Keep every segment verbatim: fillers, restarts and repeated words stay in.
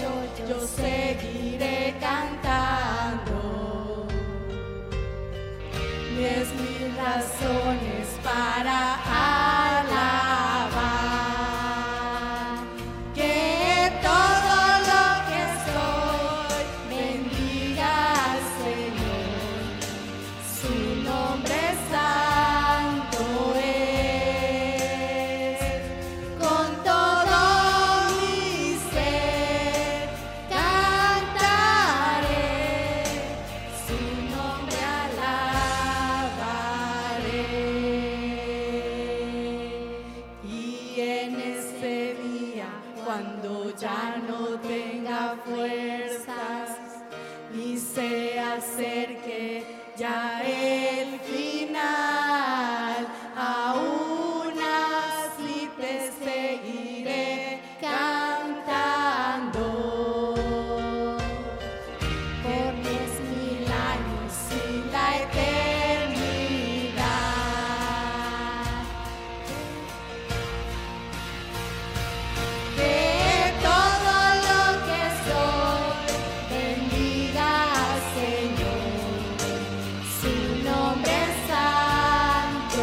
yo seguiré cantando. Diez mil razones para alabar, que todo lo que soy bendiga al Señor, su nombre santo es. Con todo mi ser cantaré, su nombre alabaré. Y en ese día, cuando ya no tenga fuerzas y se acerque ya el final, aún así te seguiré cantando por diez mil años y la eternidad. Que todo lo que soy bendiga al Señor, su nombre santo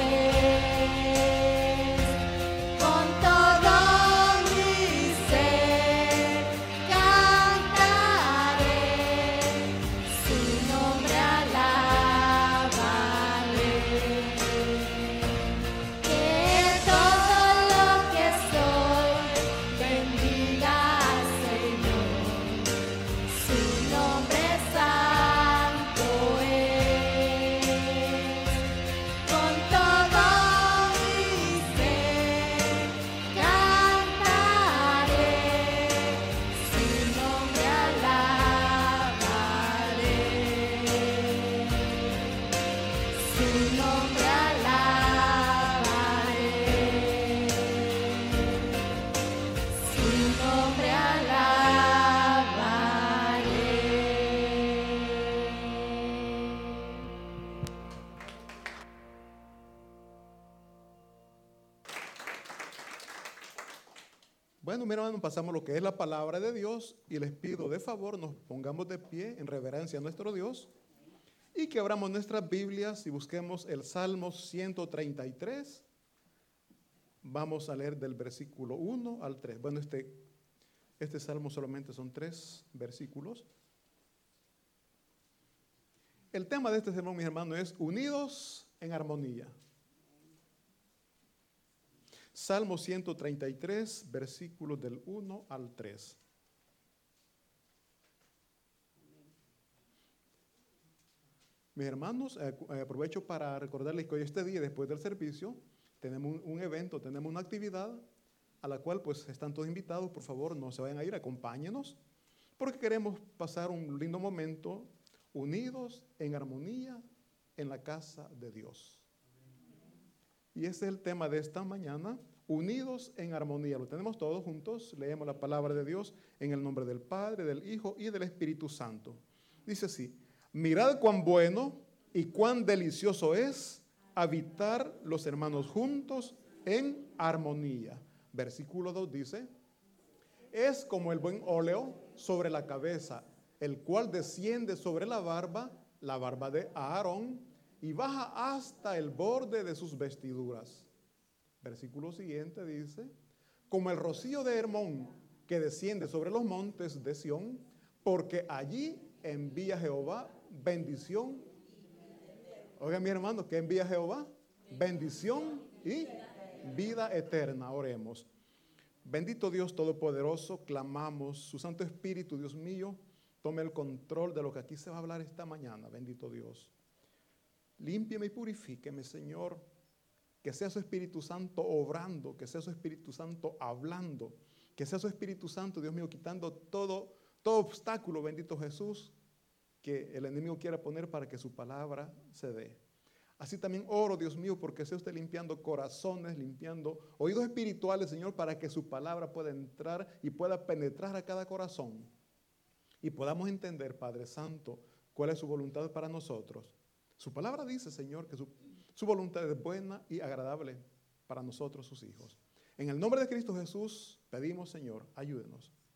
es. Con todo mi ser cantaré, su nombre alabaré. Que todo lo que soy bendiga al Señor, su nombre santo es. Con todo mi ser cantaré, su nombre alabaré, su nombre alabaré, su nombre alabaré. Bueno, mi hermano, pasamos lo que es la palabra de Dios y les pido de favor nos pongamos de pie en reverencia a nuestro Dios y que abramos nuestras Biblias y busquemos el Salmo ciento treinta y tres. Vamos a leer del versículo uno al tres. Bueno, este, este salmo solamente son tres versículos. El tema de este sermón, mis hermanos, es unidos en armonía. Salmo ciento treinta y tres, versículos del uno al tres. Mis hermanos, eh, aprovecho para recordarles que hoy este día, después del servicio, tenemos un, un evento, tenemos una actividad a la cual pues están todos invitados. Por favor, no se vayan a ir, acompáñenos, porque queremos pasar un lindo momento unidos en armonía en la casa de Dios. Y ese es el tema de esta mañana, unidos en armonía. Lo tenemos todos juntos, leemos la palabra de Dios en el nombre del Padre, del Hijo y del Espíritu Santo. Dice así: mirad cuán bueno y cuán delicioso es habitar los hermanos juntos en armonía. Versículo dos dice: es como el buen óleo sobre la cabeza, el cual desciende sobre la barba, la barba de Aarón, y baja hasta el borde de sus vestiduras. Versículo siguiente dice: como el rocío de Hermón que desciende sobre los montes de Sión, porque allí envía Jehová bendición. Oigan, mi hermano, ¿qué envía Jehová? Bendición y vida eterna. Oremos. Bendito Dios Todopoderoso, clamamos su Santo Espíritu, Dios mío, tome el control de lo que aquí se va a hablar esta mañana. Bendito Dios. Límpieme y purifíqueme, Señor, que sea su Espíritu Santo obrando, que sea su Espíritu Santo hablando, que sea su Espíritu Santo, Dios mío, quitando todo, todo obstáculo, bendito Jesús, que el enemigo quiera poner para que su palabra se dé. Así también oro, Dios mío, porque sea usted limpiando corazones, limpiando oídos espirituales, Señor, para que su palabra pueda entrar y pueda penetrar a cada corazón y podamos entender, Padre Santo, cuál es su voluntad para nosotros. Su palabra dice, Señor, que su, su voluntad es buena y agradable para nosotros, sus hijos. En el nombre de Cristo Jesús pedimos, Señor, ayúdenos.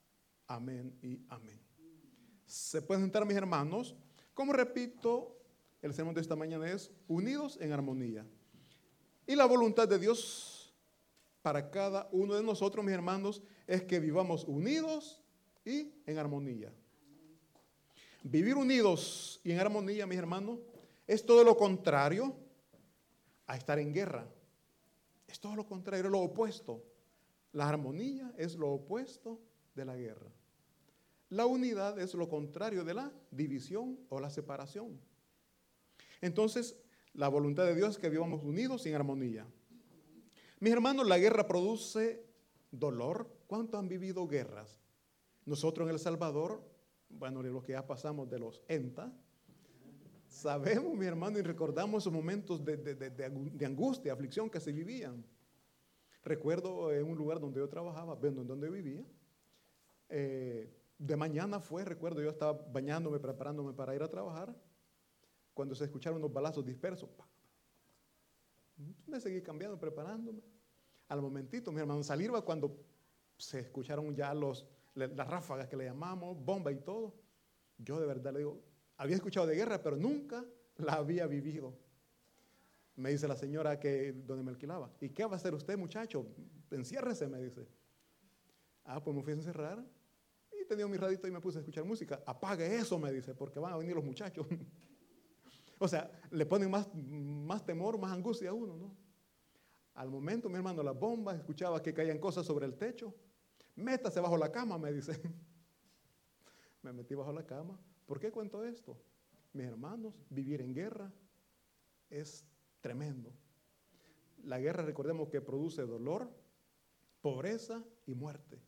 Amén y amén. Se pueden sentar, mis hermanos. Como repito, el sermón de esta mañana es unidos en armonía. Y la voluntad de Dios para cada uno de nosotros, mis hermanos, es que vivamos unidos y en armonía. Vivir unidos y en armonía, mis hermanos, es todo lo contrario a estar en guerra. Es todo lo contrario, es lo opuesto. La armonía es lo opuesto de la guerra. La unidad es lo contrario de la división o la separación. Entonces, la voluntad de Dios es que vivamos unidos y en armonía. Mis hermanos, la guerra produce dolor. ¿Cuántos han vivido guerras? Nosotros en El Salvador, bueno, los que ya pasamos de los E N T A, sabemos, mi hermano, y recordamos esos momentos de, de, de, de angustia, aflicción que se vivían. Recuerdo en un lugar donde yo trabajaba, bueno, en donde vivía, eh, de mañana fue, recuerdo, yo estaba bañándome, preparándome para ir a trabajar, cuando se escucharon unos balazos dispersos. ¡Pah! Me seguí cambiando, preparándome. Al momentito, mi hermano, salir va cuando se escucharon ya los, las ráfagas que le llamamos, bomba y todo. Yo de verdad le digo, había escuchado de guerra, pero nunca la había vivido. Me dice la señora que donde me alquilaba, ¿y qué va a hacer usted, muchacho? Enciérrese, me dice. Ah, pues me fui a encerrar y tenía mi radito y me puse a escuchar música. Apague eso, me dice, porque van a venir los muchachos. O sea, le ponen más, más temor, más angustia a uno, ¿no? Al momento, mi hermano, las bombas, escuchaba que caían cosas sobre el techo. Métase bajo la cama, me dice. Me metí bajo la cama. ¿Por qué cuento esto? Mis hermanos, vivir en guerra es tremendo. La guerra, recordemos que produce dolor, pobreza y muerte.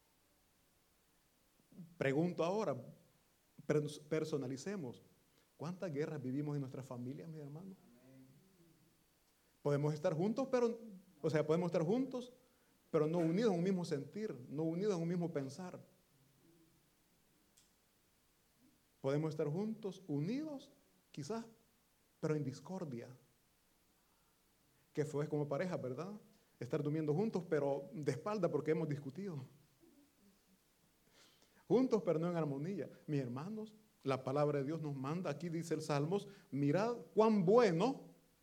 Pregunto ahora, personalicemos. ¿Cuántas guerras vivimos en nuestras familias, mis hermanos? Podemos estar juntos, pero, o sea, podemos estar juntos, pero no unidos en un mismo sentir, no unidos en un mismo pensar. Podemos estar juntos, unidos, quizás, pero en discordia. Que fue como pareja, ¿verdad? Estar durmiendo juntos, pero de espalda porque hemos discutido. Juntos, pero no en armonía. Mis hermanos, la palabra de Dios nos manda, aquí dice el Salmos, mirad cuán bueno,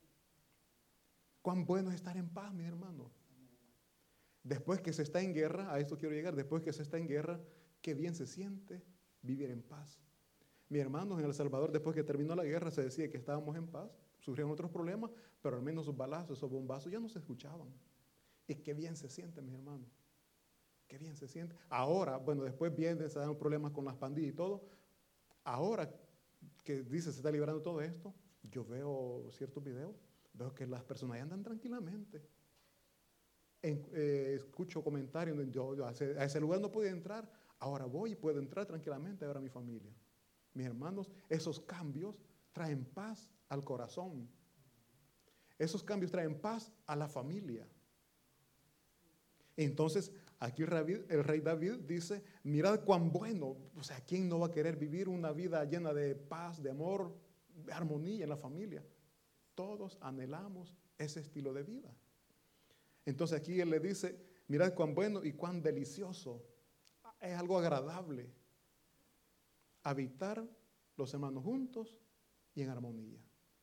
cuán bueno es estar en paz, mis hermanos. Después que se está en guerra, a esto quiero llegar, después que se está en guerra, qué bien se siente vivir en paz. Mis hermanos, en El Salvador, después que terminó la guerra, se decía que estábamos en paz, surgieron otros problemas, pero al menos esos balazos, esos bombazos ya no se escuchaban. Y qué bien se siente, mis hermanos. Qué bien se siente. Ahora, bueno, después vienen, se dan problemas con las pandillas y todo. Ahora que dice se está liberando todo esto, yo veo ciertos videos, veo que las personas ya andan tranquilamente. En, eh, escucho comentarios, yo, yo a, ese, a ese lugar no podía entrar, ahora voy y puedo entrar tranquilamente ahora a mi familia. Mis hermanos, esos cambios traen paz al corazón. Esos cambios traen paz a la familia. Entonces, aquí el rey David dice, mirad cuán bueno, o sea, ¿quién no va a querer vivir una vida llena de paz, de amor, de armonía en la familia? Todos anhelamos ese estilo de vida. Entonces aquí él le dice, mirad cuán bueno y cuán delicioso, es algo agradable habitar los hermanos juntos y en armonía.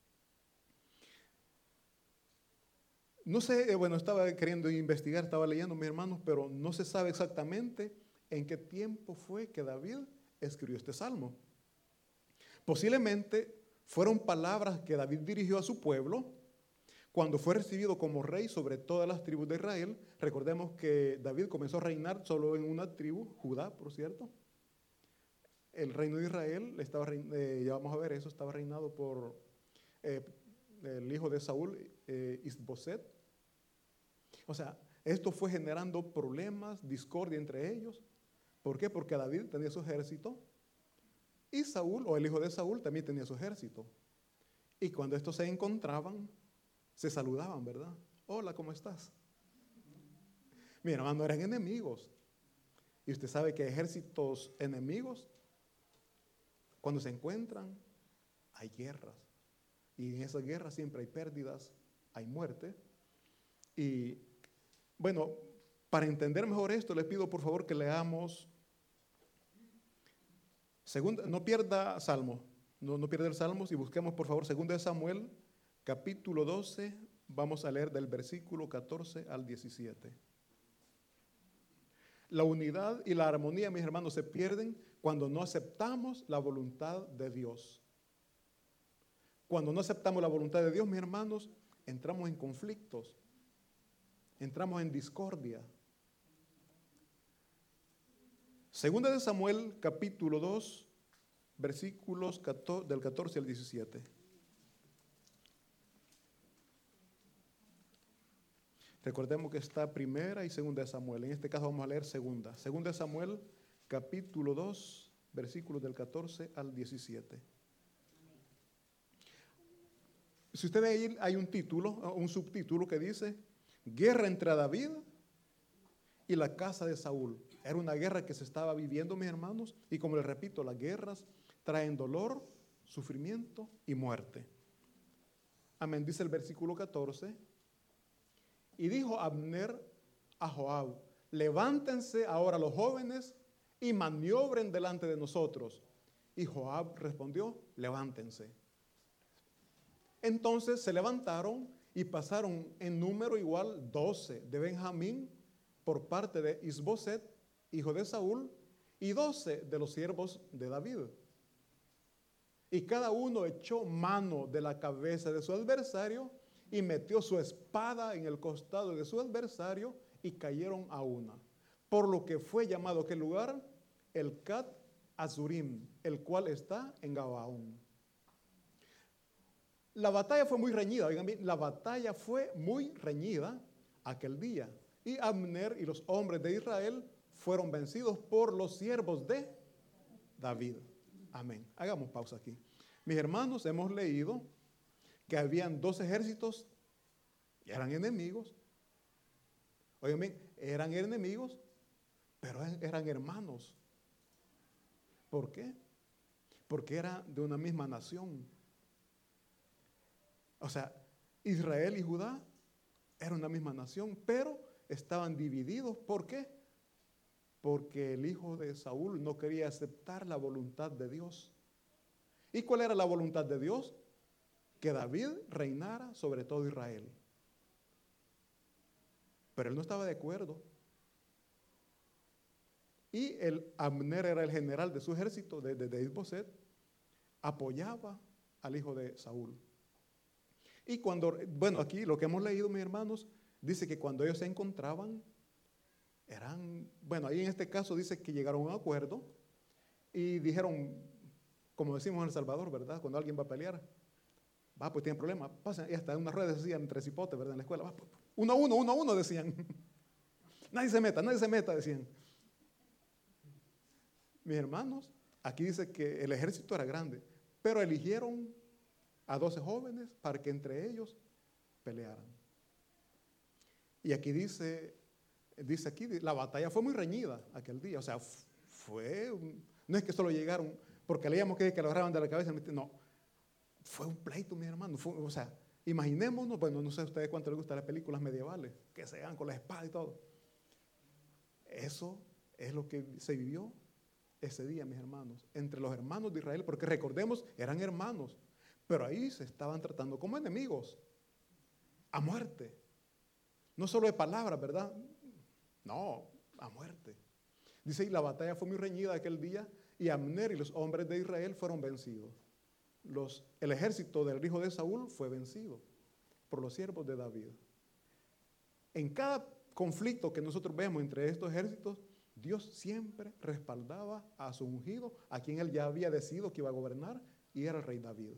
No sé, bueno, estaba queriendo investigar, estaba leyendo, mis hermanos, pero no se sabe exactamente en qué tiempo fue que David escribió este salmo. Posiblemente fueron palabras que David dirigió a su pueblo cuando fue recibido como rey sobre todas las tribus de Israel. Recordemos que David comenzó a reinar solo en una tribu, Judá, por cierto. El reino de Israel, estaba, eh, ya vamos a ver eso, estaba reinado por eh, el hijo de Saúl, eh, Isboset. O sea, esto fue generando problemas, discordia entre ellos. ¿Por qué? Porque David tenía su ejército y Saúl, o el hijo de Saúl, también tenía su ejército. Y cuando estos se encontraban, se saludaban, ¿verdad? Hola, ¿cómo estás? Mi hermano, eran enemigos. Y usted sabe que ejércitos enemigos, cuando se encuentran, hay guerras. Y en esas guerras siempre hay pérdidas, hay muerte. Y bueno, para entender mejor esto, les pido por favor que leamos Segunda, no pierda Salmo, no, no pierda el Salmo, y busquemos por favor Segunda de Samuel, capítulo doce, vamos a leer del versículo catorce al diecisiete. La unidad y la armonía, mis hermanos, se pierden cuando no aceptamos la voluntad de Dios. Cuando no aceptamos la voluntad de Dios, mis hermanos, entramos en conflictos, entramos en discordia. Segunda de Samuel, capítulo dos, versículos del catorce al diecisiete. Recordemos que está primera y segunda de Samuel. En este caso vamos a leer segunda. Segunda de Samuel, capítulo dos, versículos del catorce al diecisiete. Si usted ve ahí, hay un título, un subtítulo que dice, Guerra entre David y la casa de Saúl. Era una guerra que se estaba viviendo, mis hermanos, y como les repito, las guerras traen dolor, sufrimiento y muerte. Amén, dice el versículo catorce. Y dijo Abner a Joab, levántense ahora los jóvenes y maniobren delante de nosotros. Y Joab respondió, levántense. Entonces se levantaron y pasaron en número igual doce de Benjamín por parte de Isboset, hijo de Saúl, y doce de los siervos de David. Y cada uno echó mano de la cabeza de su adversario y metió su espada en el costado de su adversario y cayeron a una. Por lo que fue llamado aquel lugar el Cat Azurim, el cual está en Gabaón. La batalla fue muy reñida, oigan bien, la batalla fue muy reñida aquel día. Y Abner y los hombres de Israel fueron vencidos por los siervos de David. Amén. Hagamos pausa aquí. Mis hermanos, hemos leído que habían dos ejércitos y eran enemigos. Oigan bien, eran enemigos, pero eran hermanos. ¿Por qué? Porque eran de una misma nación. O sea, Israel y Judá eran una misma nación, pero estaban divididos. ¿Por qué? Porque el hijo de Saúl no quería aceptar la voluntad de Dios. ¿Y cuál era la voluntad de Dios? Que David reinara sobre todo Israel. Pero él no estaba de acuerdo. Y el Abner era el general de su ejército, de, de, de Isboset, apoyaba al hijo de Saúl. Y cuando, bueno, aquí lo que hemos leído, mis hermanos, dice que cuando ellos se encontraban, eran, bueno, ahí en este caso dice que llegaron a un acuerdo y dijeron, como decimos en El Salvador, ¿verdad? Cuando alguien va a pelear, va, pues tiene problemas, pasen, y hasta en unas ruedas decían entre cipotes, ¿verdad? En la escuela, va, pues, uno a uno, uno a uno, decían. Nadie se meta, nadie se meta, decían. Mis hermanos, aquí dice que el ejército era grande, pero eligieron a doce jóvenes para que entre ellos pelearan. Y aquí dice, dice aquí, la batalla fue muy reñida aquel día, o sea, fue, un, no es que solo llegaron, porque leíamos que, que lo agarraban de la cabeza, no, fue un pleito, mi hermano, fue, o sea, imaginémonos, bueno, no sé a ustedes cuánto les gustan las películas medievales, que se dan con la espada y todo. Eso es lo que se vivió ese día, mis hermanos, entre los hermanos de Israel, porque recordemos, eran hermanos, pero ahí se estaban tratando como enemigos, a muerte. No solo de palabras, ¿verdad? No, a muerte. Dice, y la batalla fue muy reñida aquel día, y Abner y los hombres de Israel fueron vencidos. Los, el ejército del hijo de Saúl fue vencido por los siervos de David. En cada conflicto que nosotros vemos entre estos ejércitos, Dios siempre respaldaba a su ungido, a quien él ya había decidido que iba a gobernar, y era el rey David.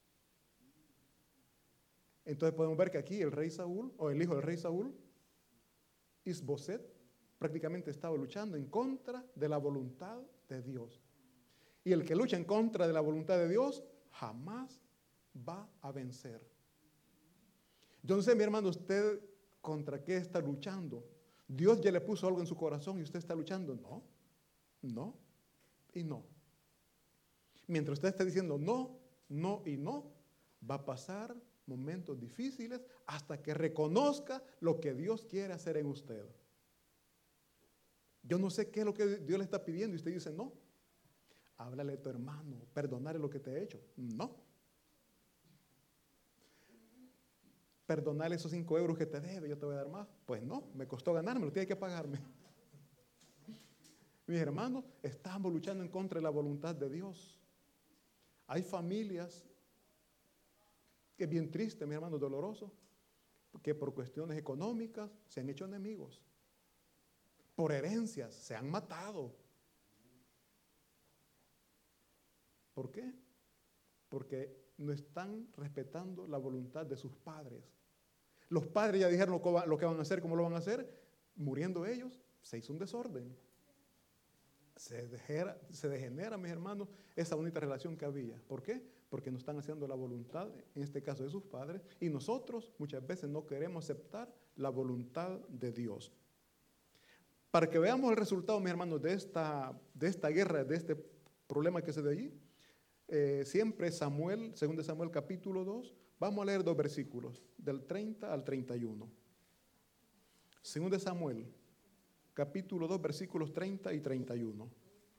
Entonces podemos ver que aquí el rey Saúl, o el hijo del rey Saúl, Isboset, prácticamente estaba luchando en contra de la voluntad de Dios. Y el que lucha en contra de la voluntad de Dios, jamás va a vencer. Yo no sé, mi hermano, usted contra qué está luchando. Dios ya le puso algo en su corazón y usted está luchando. No, no y no. Mientras usted esté diciendo no, no y no, va a pasar momentos difíciles hasta que reconozca lo que Dios quiere hacer en usted. Yo no sé qué es lo que Dios le está pidiendo y usted dice no. háblale a tu hermano, perdonarle lo que te ha hecho. No. Perdonarle esos cinco euros que te debe, yo te voy a dar más. Pues no, me costó ganármelo, tiene que pagarme. Mis hermanos, estamos luchando en contra de la voluntad de Dios. Hay familias que es bien triste, mis hermanos, doloroso, que por cuestiones económicas se han hecho enemigos. Por herencias se han matado. ¿Por qué? Porque no están respetando la voluntad de sus padres. Los padres ya dijeron lo que, va, lo que van a hacer, cómo lo van a hacer. Muriendo ellos, se hizo un desorden. Se degenera, se degenera, mis hermanos, esa bonita relación que había. ¿Por qué? Porque no están haciendo la voluntad, en este caso de sus padres, y nosotros muchas veces no queremos aceptar la voluntad de Dios. Para que veamos el resultado, mis hermanos, de esta, de esta guerra, de este problema que se dio allí, eh, siempre Samuel, segundo Samuel capítulo dos, vamos a leer dos versículos, del treinta al treinta y uno. segundo Samuel, capítulo dos, versículos treinta y treinta y uno.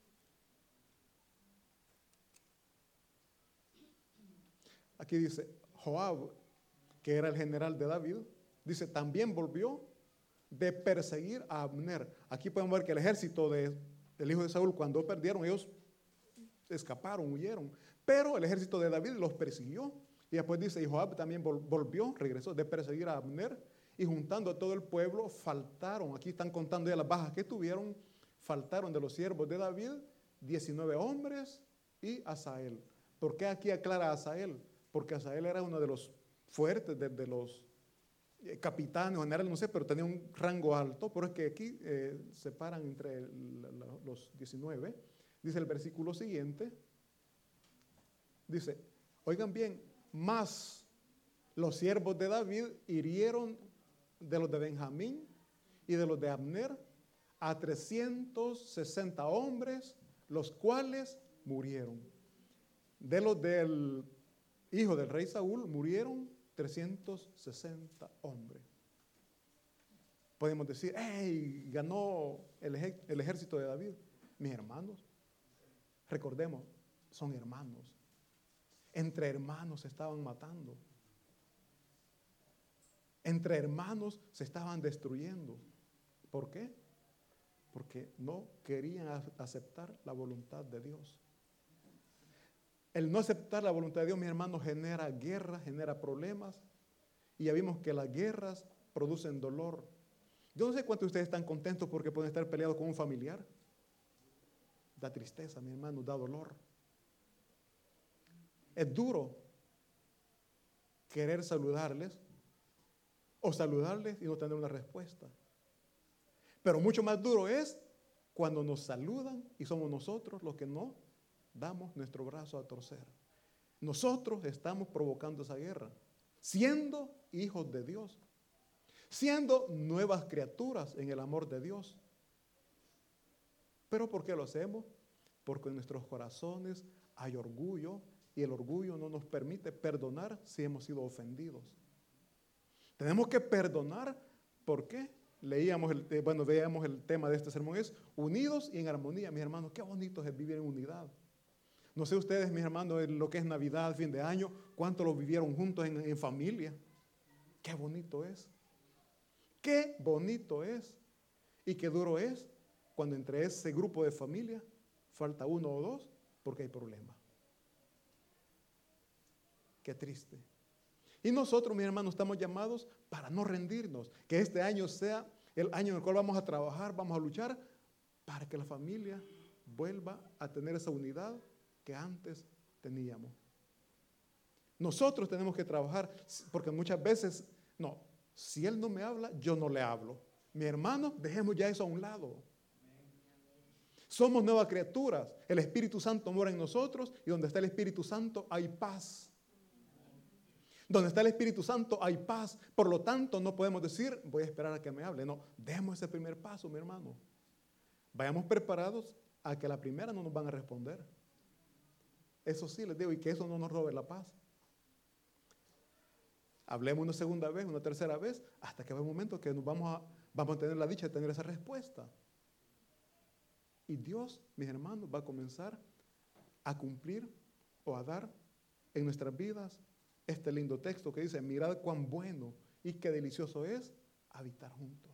Aquí dice, Joab, que era el general de David, dice, también volvió de perseguir a Abner. Aquí podemos ver que el ejército de, del hijo de Saúl, cuando perdieron, ellos escaparon, huyeron. Pero el ejército de David los persiguió. Y después dice, y Joab también volvió, regresó de perseguir a Abner. Y juntando a todo el pueblo, faltaron, aquí están contando ya las bajas que tuvieron, faltaron de los siervos de David diecinueve hombres y Asael. ¿Por qué aquí aclara a Asael? Porque Asael era uno de los fuertes, de, de los eh, capitanes, generales, no sé, pero tenía un rango alto. Pero es que aquí eh, separan entre el, la, los diecinueve. Dice el versículo siguiente, dice, oigan bien, más los siervos de David hirieron de los de Benjamín y de los de Abner a trescientos sesenta hombres, los cuales murieron. De los del hijo del rey Saúl murieron trescientos sesenta hombres. Podemos decir, ¡hey! Ganó el, ej- el ejército de David. Mis hermanos, recordemos, son hermanos. Entre hermanos se estaban matando. Entre hermanos se estaban destruyendo. ¿Por qué? Porque no querían aceptar la voluntad de Dios. El no aceptar la voluntad de Dios, mis hermanos, genera guerra, genera problemas. Y ya vimos que las guerras producen dolor. Yo no sé cuántos de ustedes están contentos porque pueden estar peleados con un familiar. Da tristeza, mi hermano, da dolor. Es duro querer saludarles o saludarles y no tener una respuesta. Pero mucho más duro es cuando nos saludan y somos nosotros los que no damos nuestro brazo a torcer. Nosotros estamos provocando esa guerra, siendo hijos de Dios, siendo nuevas criaturas en el amor de Dios. ¿Pero por qué lo hacemos? Porque en nuestros corazones hay orgullo y el orgullo no nos permite perdonar si hemos sido ofendidos. Tenemos que perdonar, ¿por qué? Leíamos, el, eh, bueno, veíamos el tema de este sermón, es unidos y en armonía. Mis hermanos, qué bonito es vivir en unidad. No sé ustedes, mis hermanos, en lo que es Navidad, fin de año, cuánto lo vivieron juntos en, en familia. Qué bonito es. Qué bonito es. Y qué duro es cuando entre ese grupo de familia falta uno o dos porque hay problema. Qué triste. Y nosotros, mis hermanos, estamos llamados para no rendirnos. Que este año sea el año en el cual vamos a trabajar, vamos a luchar para que la familia vuelva a tener esa unidad que antes teníamos. Nosotros tenemos que trabajar, porque muchas veces, no, si él no me habla, yo no le hablo. Mi hermano, dejemos ya eso a un lado. Somos nuevas criaturas. El Espíritu Santo mora en nosotros y donde está el Espíritu Santo hay paz. Donde está el Espíritu Santo hay paz. Por lo tanto, no podemos decir, voy a esperar a que me hable. No, demos ese primer paso, mi hermano. Vayamos preparados a que a la primera no nos van a responder. Eso sí les digo, y que eso no nos robe la paz. Hablemos una segunda vez, una tercera vez, hasta que va un momento que nos vamos a, vamos a tener la dicha de tener esa respuesta. Y Dios, mis hermanos, va a comenzar a cumplir o a dar en nuestras vidas este lindo texto que dice, mirad cuán bueno y qué delicioso es habitar juntos.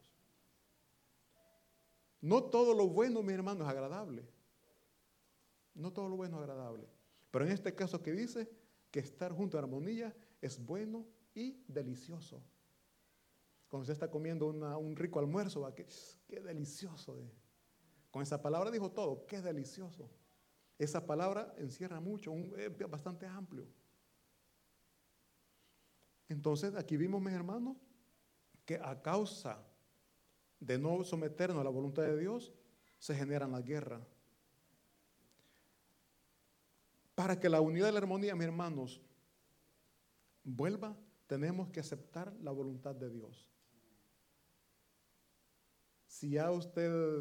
No todo lo bueno, mis hermanos, es agradable. No todo lo bueno es agradable. Pero en este caso que dice que estar junto a armonía es bueno y delicioso. Cuando usted está comiendo una, un rico almuerzo, ¿va? Qué, qué delicioso es. Con esa palabra dijo todo, qué delicioso. Esa palabra encierra mucho, un, es bastante amplio. Entonces, aquí vimos, mis hermanos, que a causa de no someternos a la voluntad de Dios, se generan las guerras. Para que la unidad y la armonía, mis hermanos, vuelva, tenemos que aceptar la voluntad de Dios. Si ya usted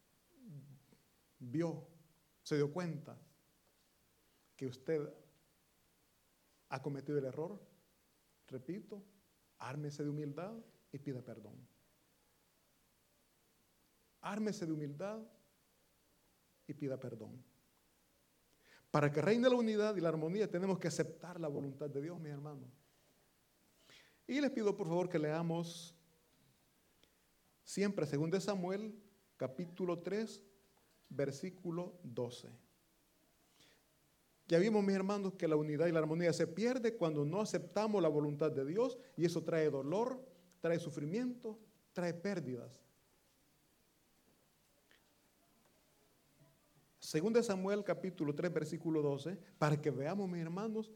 vio, se dio cuenta que usted ha cometido el error, repito, ármese de humildad y pida perdón. Ármese de humildad y pida perdón. Para que reine la unidad y la armonía tenemos que aceptar la voluntad de Dios, mis hermanos. Y les pido por favor que leamos siempre según de Samuel, capítulo tres, versículo doce. Ya vimos, mis hermanos, que la unidad y la armonía se pierde cuando no aceptamos la voluntad de Dios y eso trae dolor, trae sufrimiento, trae pérdidas. Según de Samuel, capítulo tres, versículo doce, para que veamos, mis hermanos,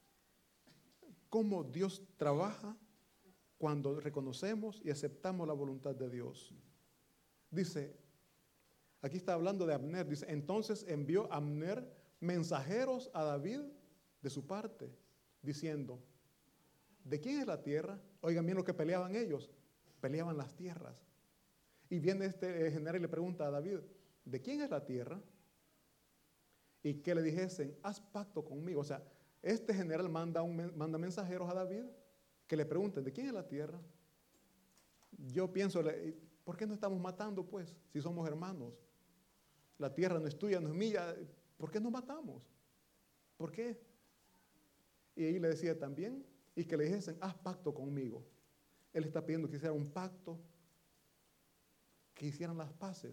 cómo Dios trabaja cuando reconocemos y aceptamos la voluntad de Dios. Dice, aquí está hablando de Abner, dice, entonces envió Abner mensajeros a David de su parte, diciendo, ¿de quién es la tierra? Oigan bien lo que peleaban ellos, peleaban las tierras. Y viene este general y le pregunta a David, ¿de quién es la tierra? Y que le dijesen, haz pacto conmigo. O sea, este general manda, un, manda mensajeros a David que le pregunten, ¿de quién es la tierra? Yo pienso, ¿por qué no estamos matando pues, si somos hermanos? La tierra no es tuya, no es mía, ¿por qué nos matamos? ¿Por qué? Y ahí le decía también, y que le dijesen, haz pacto conmigo. Él está pidiendo que hiciera un pacto, que hicieran las paces.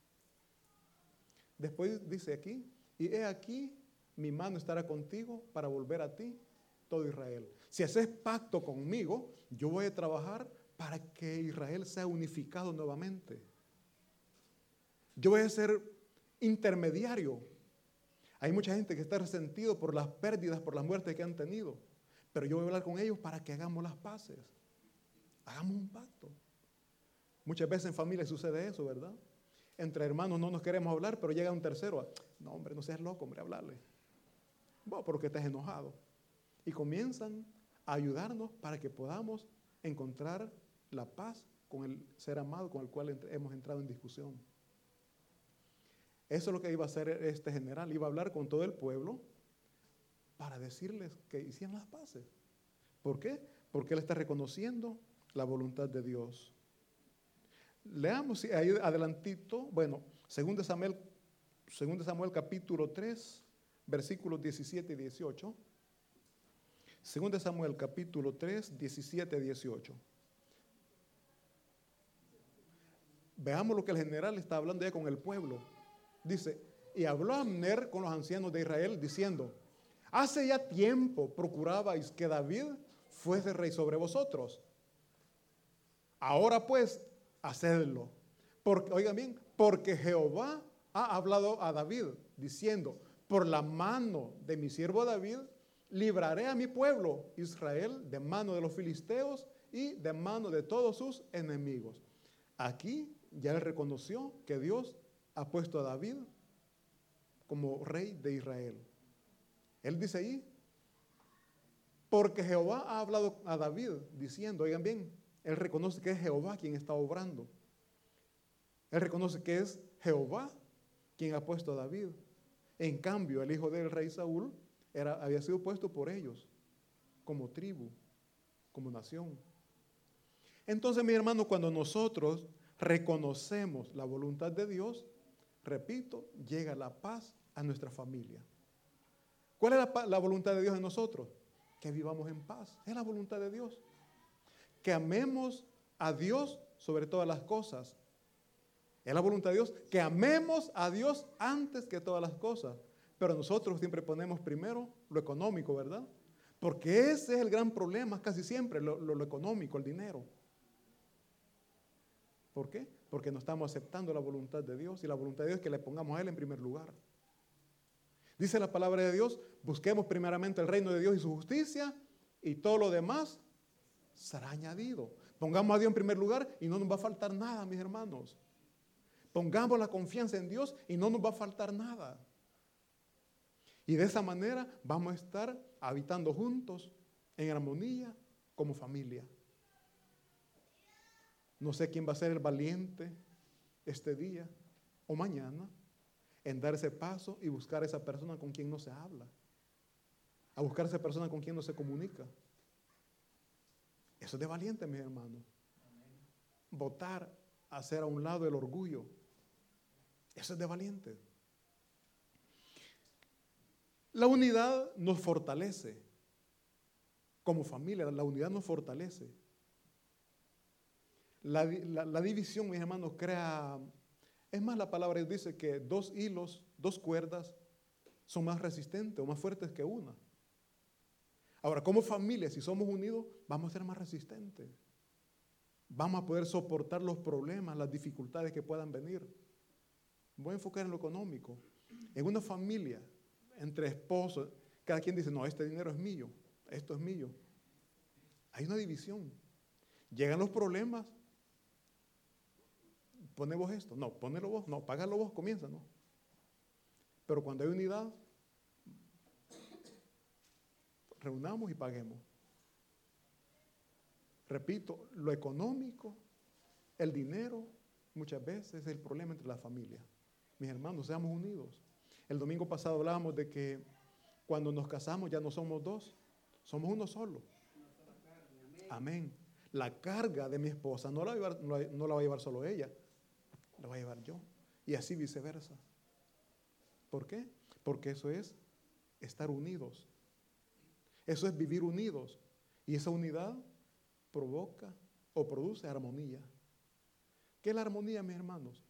Después dice aquí, y he aquí, mi mano estará contigo para volver a ti todo Israel. Si haces pacto conmigo, yo voy a trabajar para que Israel sea unificado nuevamente. Yo voy a ser intermediario. Hay mucha gente que está resentido por las pérdidas, por las muertes que han tenido. Pero yo voy a hablar con ellos para que hagamos las paces. Hagamos un pacto. Muchas veces en familia sucede eso, ¿verdad? Entre hermanos no nos queremos hablar, pero llega un tercero. No, hombre, no seas loco, hombre, hablarle. Bueno, porque estás enojado. Y comienzan a ayudarnos para que podamos encontrar la paz con el ser amado con el cual entre, hemos entrado en discusión. Eso es lo que iba a hacer este general. Iba a hablar con todo el pueblo para decirles que hicieran las paces. ¿Por qué? Porque él está reconociendo la voluntad de Dios. Leamos ahí adelantito, bueno, según de Samuel, según de Samuel capítulo tres, versículos diecisiete y dieciocho. Según de Samuel capítulo tres, diecisiete y dieciocho. Veamos lo que el general está hablando ya con el pueblo. Dice, y habló Abner con los ancianos de Israel diciendo, hace ya tiempo procurabais que David fuese rey sobre vosotros. Ahora pues, hacedlo. Porque, oigan bien, porque Jehová ha hablado a David diciendo, por la mano de mi siervo David, libraré a mi pueblo Israel de mano de los filisteos y de mano de todos sus enemigos. Aquí ya él reconoció que Dios ha puesto a David como rey de Israel. Él dice ahí, porque Jehová ha hablado a David diciendo, oigan bien, él reconoce que es Jehová quien está obrando. Él reconoce que es Jehová quien ha puesto a David. En cambio, el hijo del rey Saúl era, había sido puesto por ellos como tribu, como nación. Entonces, mi hermano, cuando nosotros reconocemos la voluntad de Dios, repito, llega la paz a nuestra familia. ¿Cuál es la, la voluntad de Dios en nosotros? Que vivamos en paz. Es la voluntad de Dios. Que amemos a Dios sobre todas las cosas. Es la voluntad de Dios. Que amemos a Dios antes que todas las cosas. Pero nosotros siempre ponemos primero lo económico, ¿verdad? Porque ese es el gran problema casi siempre, lo, lo, lo económico, el dinero. ¿Por qué? Porque no estamos aceptando la voluntad de Dios, y la voluntad de Dios es que le pongamos a Él en primer lugar. Dice la palabra de Dios, busquemos primeramente el reino de Dios y su justicia, y todo lo demás será añadido. Pongamos a Dios en primer lugar y no nos va a faltar nada, mis hermanos. Pongamos la confianza en Dios y no nos va a faltar nada. Y de esa manera vamos a estar habitando juntos en armonía como familia. No sé quién va a ser el valiente este día o mañana en dar ese paso y buscar a esa persona con quien no se habla, a buscar a esa persona con quien no se comunica. Eso es de valiente, mis hermanos. Votar, hacer a un lado el orgullo. Eso es de valiente. La unidad nos fortalece. Como familia, la unidad nos fortalece. La, la, la división, mis hermanos, crea... Es más, la palabra dice que dos hilos, dos cuerdas, son más resistentes o más fuertes que una. Ahora, como familia, si somos unidos, vamos a ser más resistentes. Vamos a poder soportar los problemas, las dificultades que puedan venir. Voy a enfocar en lo económico. En una familia, entre esposos, cada quien dice, no, este dinero es mío, esto es mío. Hay una división. Llegan los problemas, pone vos esto, no, ponelo vos, no, págalo vos, comienza, no. Pero cuando hay unidad, reunamos y paguemos. Repito, lo económico, el dinero, muchas veces es el problema entre las familias. Mis hermanos, seamos unidos. El domingo pasado hablábamos de que cuando nos casamos ya no somos dos, somos uno solo. Amén. La carga de mi esposa no la, va a llevar, no, la, no la va a llevar solo ella, la voy a llevar yo. Y así viceversa. ¿Por qué? Porque eso es estar unidos. Eso es vivir unidos. Y esa unidad provoca o produce armonía. ¿Qué es la armonía, mis hermanos?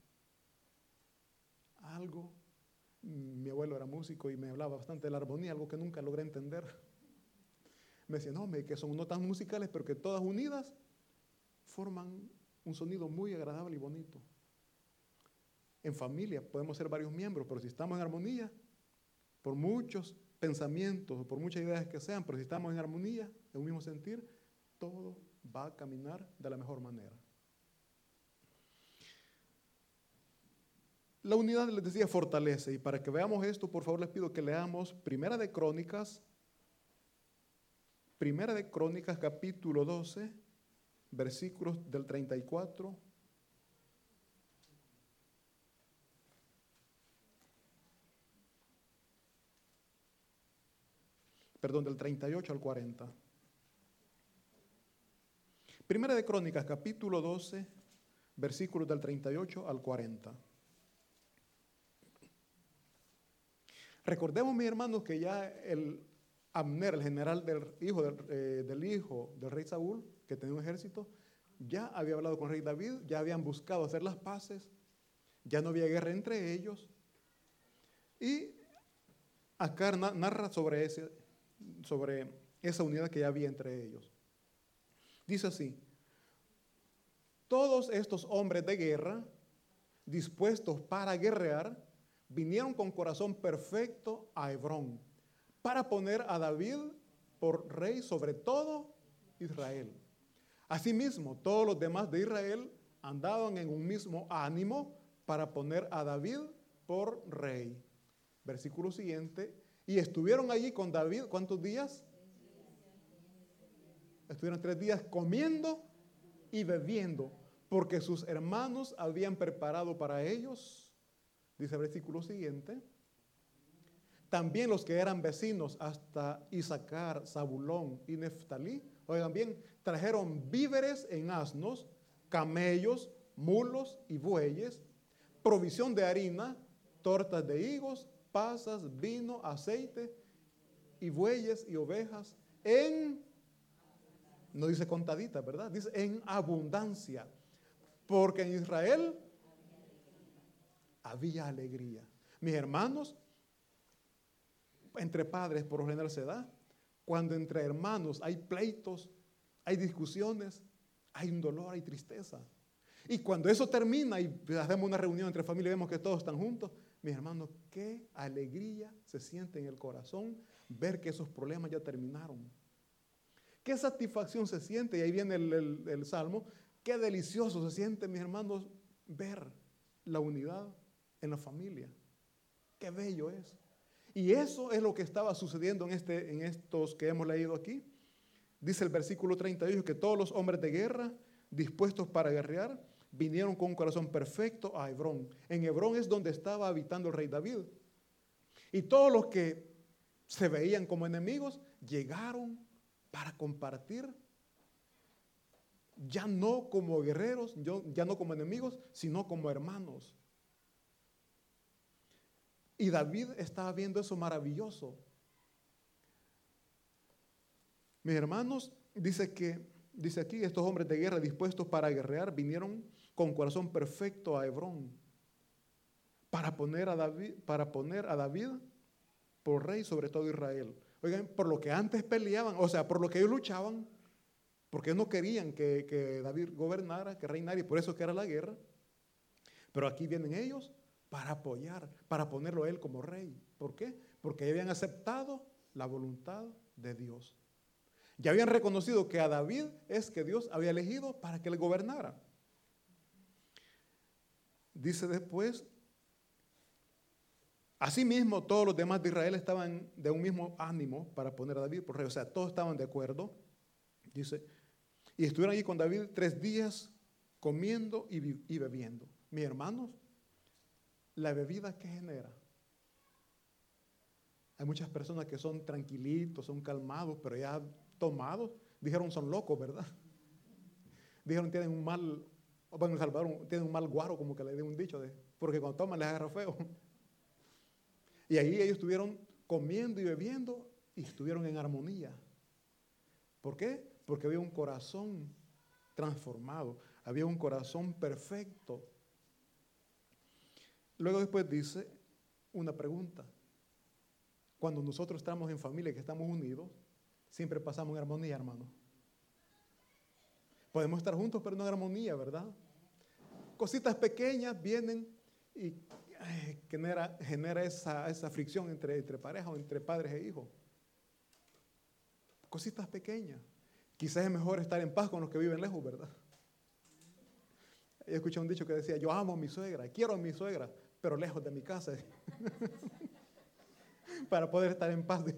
Algo, mi abuelo era músico y me hablaba bastante de la armonía, algo que nunca logré entender. Me decía, no, que son notas musicales, pero que todas unidas forman un sonido muy agradable y bonito. En familia podemos ser varios miembros, pero si estamos en armonía, por muchos pensamientos, por muchas ideas que sean, pero si estamos en armonía, en un mismo sentir, todo va a caminar de la mejor manera. La unidad, les decía, fortalece, y para que veamos esto, por favor les pido que leamos Primera de Crónicas, Primera de Crónicas, capítulo doce, versículos del treinta y cuatro perdón, del treinta y ocho al cuarenta. Primera de Crónicas, capítulo doce, versículos del treinta y ocho al cuarenta. Recordemos, mis hermanos, que ya el Abner, el general del hijo del, eh, del hijo del rey Saúl, que tenía un ejército, ya había hablado con el rey David, ya habían buscado hacer las paces, ya no había guerra entre ellos. Y acá narra sobre, ese, sobre esa unidad que ya había entre ellos. Dice así: todos estos hombres de guerra, dispuestos para guerrear, vinieron con corazón perfecto a Hebrón, para poner a David por rey sobre todo Israel. Asimismo, todos los demás de Israel andaban en un mismo ánimo para poner a David por rey. Versículo siguiente. Y estuvieron allí con David, ¿cuántos días? Estuvieron tres días comiendo y bebiendo, porque sus hermanos habían preparado para ellos. Dice el versículo siguiente. También los que eran vecinos hasta Isaacar, Zabulón y Neftalí, oigan bien, trajeron víveres en asnos, camellos, mulos y bueyes, provisión de harina, tortas de higos, pasas, vino, aceite y bueyes y ovejas en, no dice contadita, ¿verdad? Dice en abundancia. Porque en Israel había alegría. Mis hermanos, entre padres por lo general se da. Cuando entre hermanos hay pleitos, hay discusiones, hay un dolor, hay tristeza. Y cuando eso termina y hacemos una reunión entre familia y vemos que todos están juntos, mis hermanos, qué alegría se siente en el corazón ver que esos problemas ya terminaron. Qué satisfacción se siente, y ahí viene el, el, el Salmo, qué delicioso se siente, mis hermanos, ver la unidad en la familia. Qué bello es. Y eso es lo que estaba sucediendo en, este, en estos que hemos leído aquí. Dice el versículo treinta y ocho que todos los hombres de guerra dispuestos para guerrear vinieron con un corazón perfecto a Hebrón. En Hebrón es donde estaba habitando el rey David. Y todos los que se veían como enemigos llegaron para compartir, ya no como guerreros, ya no como enemigos, sino como hermanos. Y David estaba viendo eso maravilloso. Mis hermanos, dice que, dice aquí, estos hombres de guerra dispuestos para guerrear vinieron con corazón perfecto a Hebrón para poner a David, para poner a David por rey sobre todo Israel. Oigan, por lo que antes peleaban, o sea, por lo que ellos luchaban, porque no querían que, que David gobernara, que reinara, y por eso que era la guerra. Pero aquí vienen ellos para apoyar, para ponerlo a él como rey. ¿Por qué? Porque habían aceptado la voluntad de Dios. Ya habían reconocido que a David es que Dios había elegido para que él gobernara. Dice después, asimismo todos los demás de Israel estaban de un mismo ánimo para poner a David por rey. O sea, todos estaban de acuerdo. Dice, y estuvieron allí con David tres días comiendo y, y bebiendo. Mis hermanos, la bebida que genera. Hay muchas personas que son tranquilitos, son calmados, pero ya tomados, dijeron son locos, ¿verdad? Dijeron tienen un mal, bueno, en El Salvador tienen un mal guaro, como que le di un dicho, de, porque cuando toman les agarra feo. Y ahí ellos estuvieron comiendo y bebiendo y estuvieron en armonía. ¿Por qué? Porque había un corazón transformado, había un corazón perfecto. Luego después dice una pregunta. Cuando nosotros estamos en familia, que estamos unidos, siempre pasamos en armonía, hermano. Podemos estar juntos, pero no en armonía, ¿verdad? Cositas pequeñas vienen y ay, genera, genera esa, esa fricción entre, entre pareja o entre padres e hijos. Cositas pequeñas. Quizás es mejor estar en paz con los que viven lejos, ¿verdad? Yo escuché un dicho que decía, yo amo a mi suegra, quiero a mi suegra, pero lejos de mi casa. Para poder estar en paz.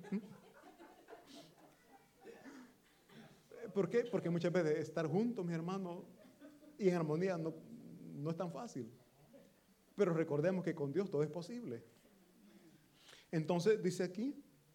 ¿Por qué? Porque muchas veces estar juntos, mis hermanos, y en armonía no, no es tan fácil. Pero recordemos que con Dios todo es posible. Entonces dice aquí,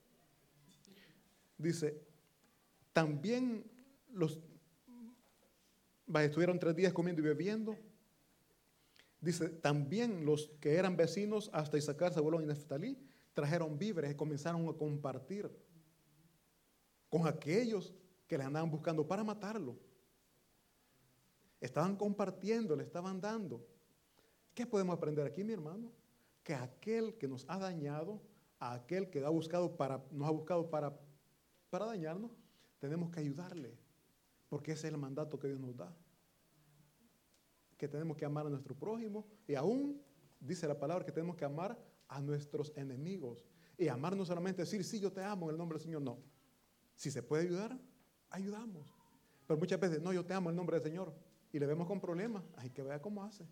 dice, también los, estuvieron tres días comiendo y bebiendo. Dice, también los que eran vecinos hasta Isaacar, Zabulón y Neftalí, trajeron víveres y comenzaron a compartir con aquellos que le andaban buscando para matarlo. Estaban compartiendo, le estaban dando. ¿Qué podemos aprender aquí, mi hermano? Que aquel que nos ha dañado, a aquel que ha buscado para, nos ha buscado para, para dañarnos, tenemos que ayudarle, porque ese es el mandato que Dios nos da. Que tenemos que amar a nuestro prójimo, y aún dice la palabra que tenemos que amar a nuestros enemigos. Y amar no solamente decir, sí, yo te amo en el nombre del Señor, no. Si se puede ayudar, ayudamos. Pero muchas veces, no, yo te amo en el nombre del Señor, y le vemos con problemas, hay que ver cómo hace.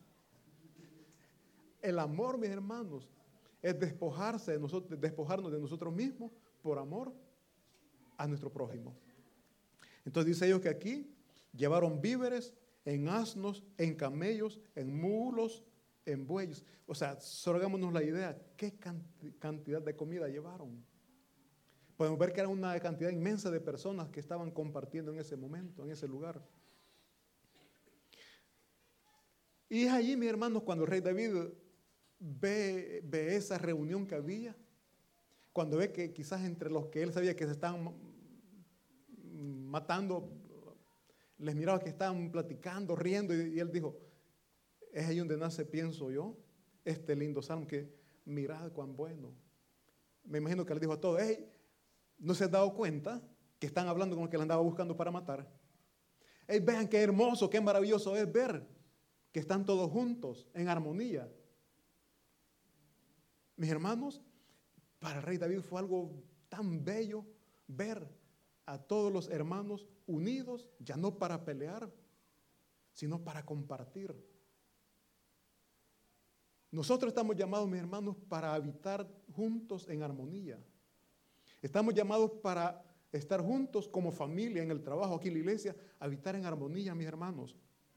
El amor, mis hermanos, es despojarse de nosotros, despojarnos de nosotros mismos por amor a nuestro prójimo. Entonces dice ellos que aquí llevaron víveres en asnos, en camellos, en mulos, en bueyes. O sea, solo hagámonos la idea, qué cantidad de comida llevaron. Podemos ver que era una cantidad inmensa de personas que estaban compartiendo en ese momento, en ese lugar. Y es allí, mis hermanos, cuando el rey David ve, ve esa reunión que había, cuando ve que quizás entre los que él sabía que se estaban matando, les miraba que estaban platicando, riendo, y, y él dijo, es ahí donde nace, pienso yo, este lindo salmo que mirad cuán bueno. Me imagino que le dijo a todos, hey, ¿no se han dado cuenta que están hablando con el que le andaba buscando para matar? Hey, vean qué hermoso, qué maravilloso es ver que están todos juntos, en armonía. Mis hermanos, para el rey David fue algo tan bello ver a todos los hermanos unidos, ya no para pelear, sino para compartir. Nosotros estamos llamados, mis hermanos, para habitar juntos en armonía. Estamos llamados para estar juntos como familia en el trabajo, aquí en la iglesia, habitar en armonía, mis hermanos.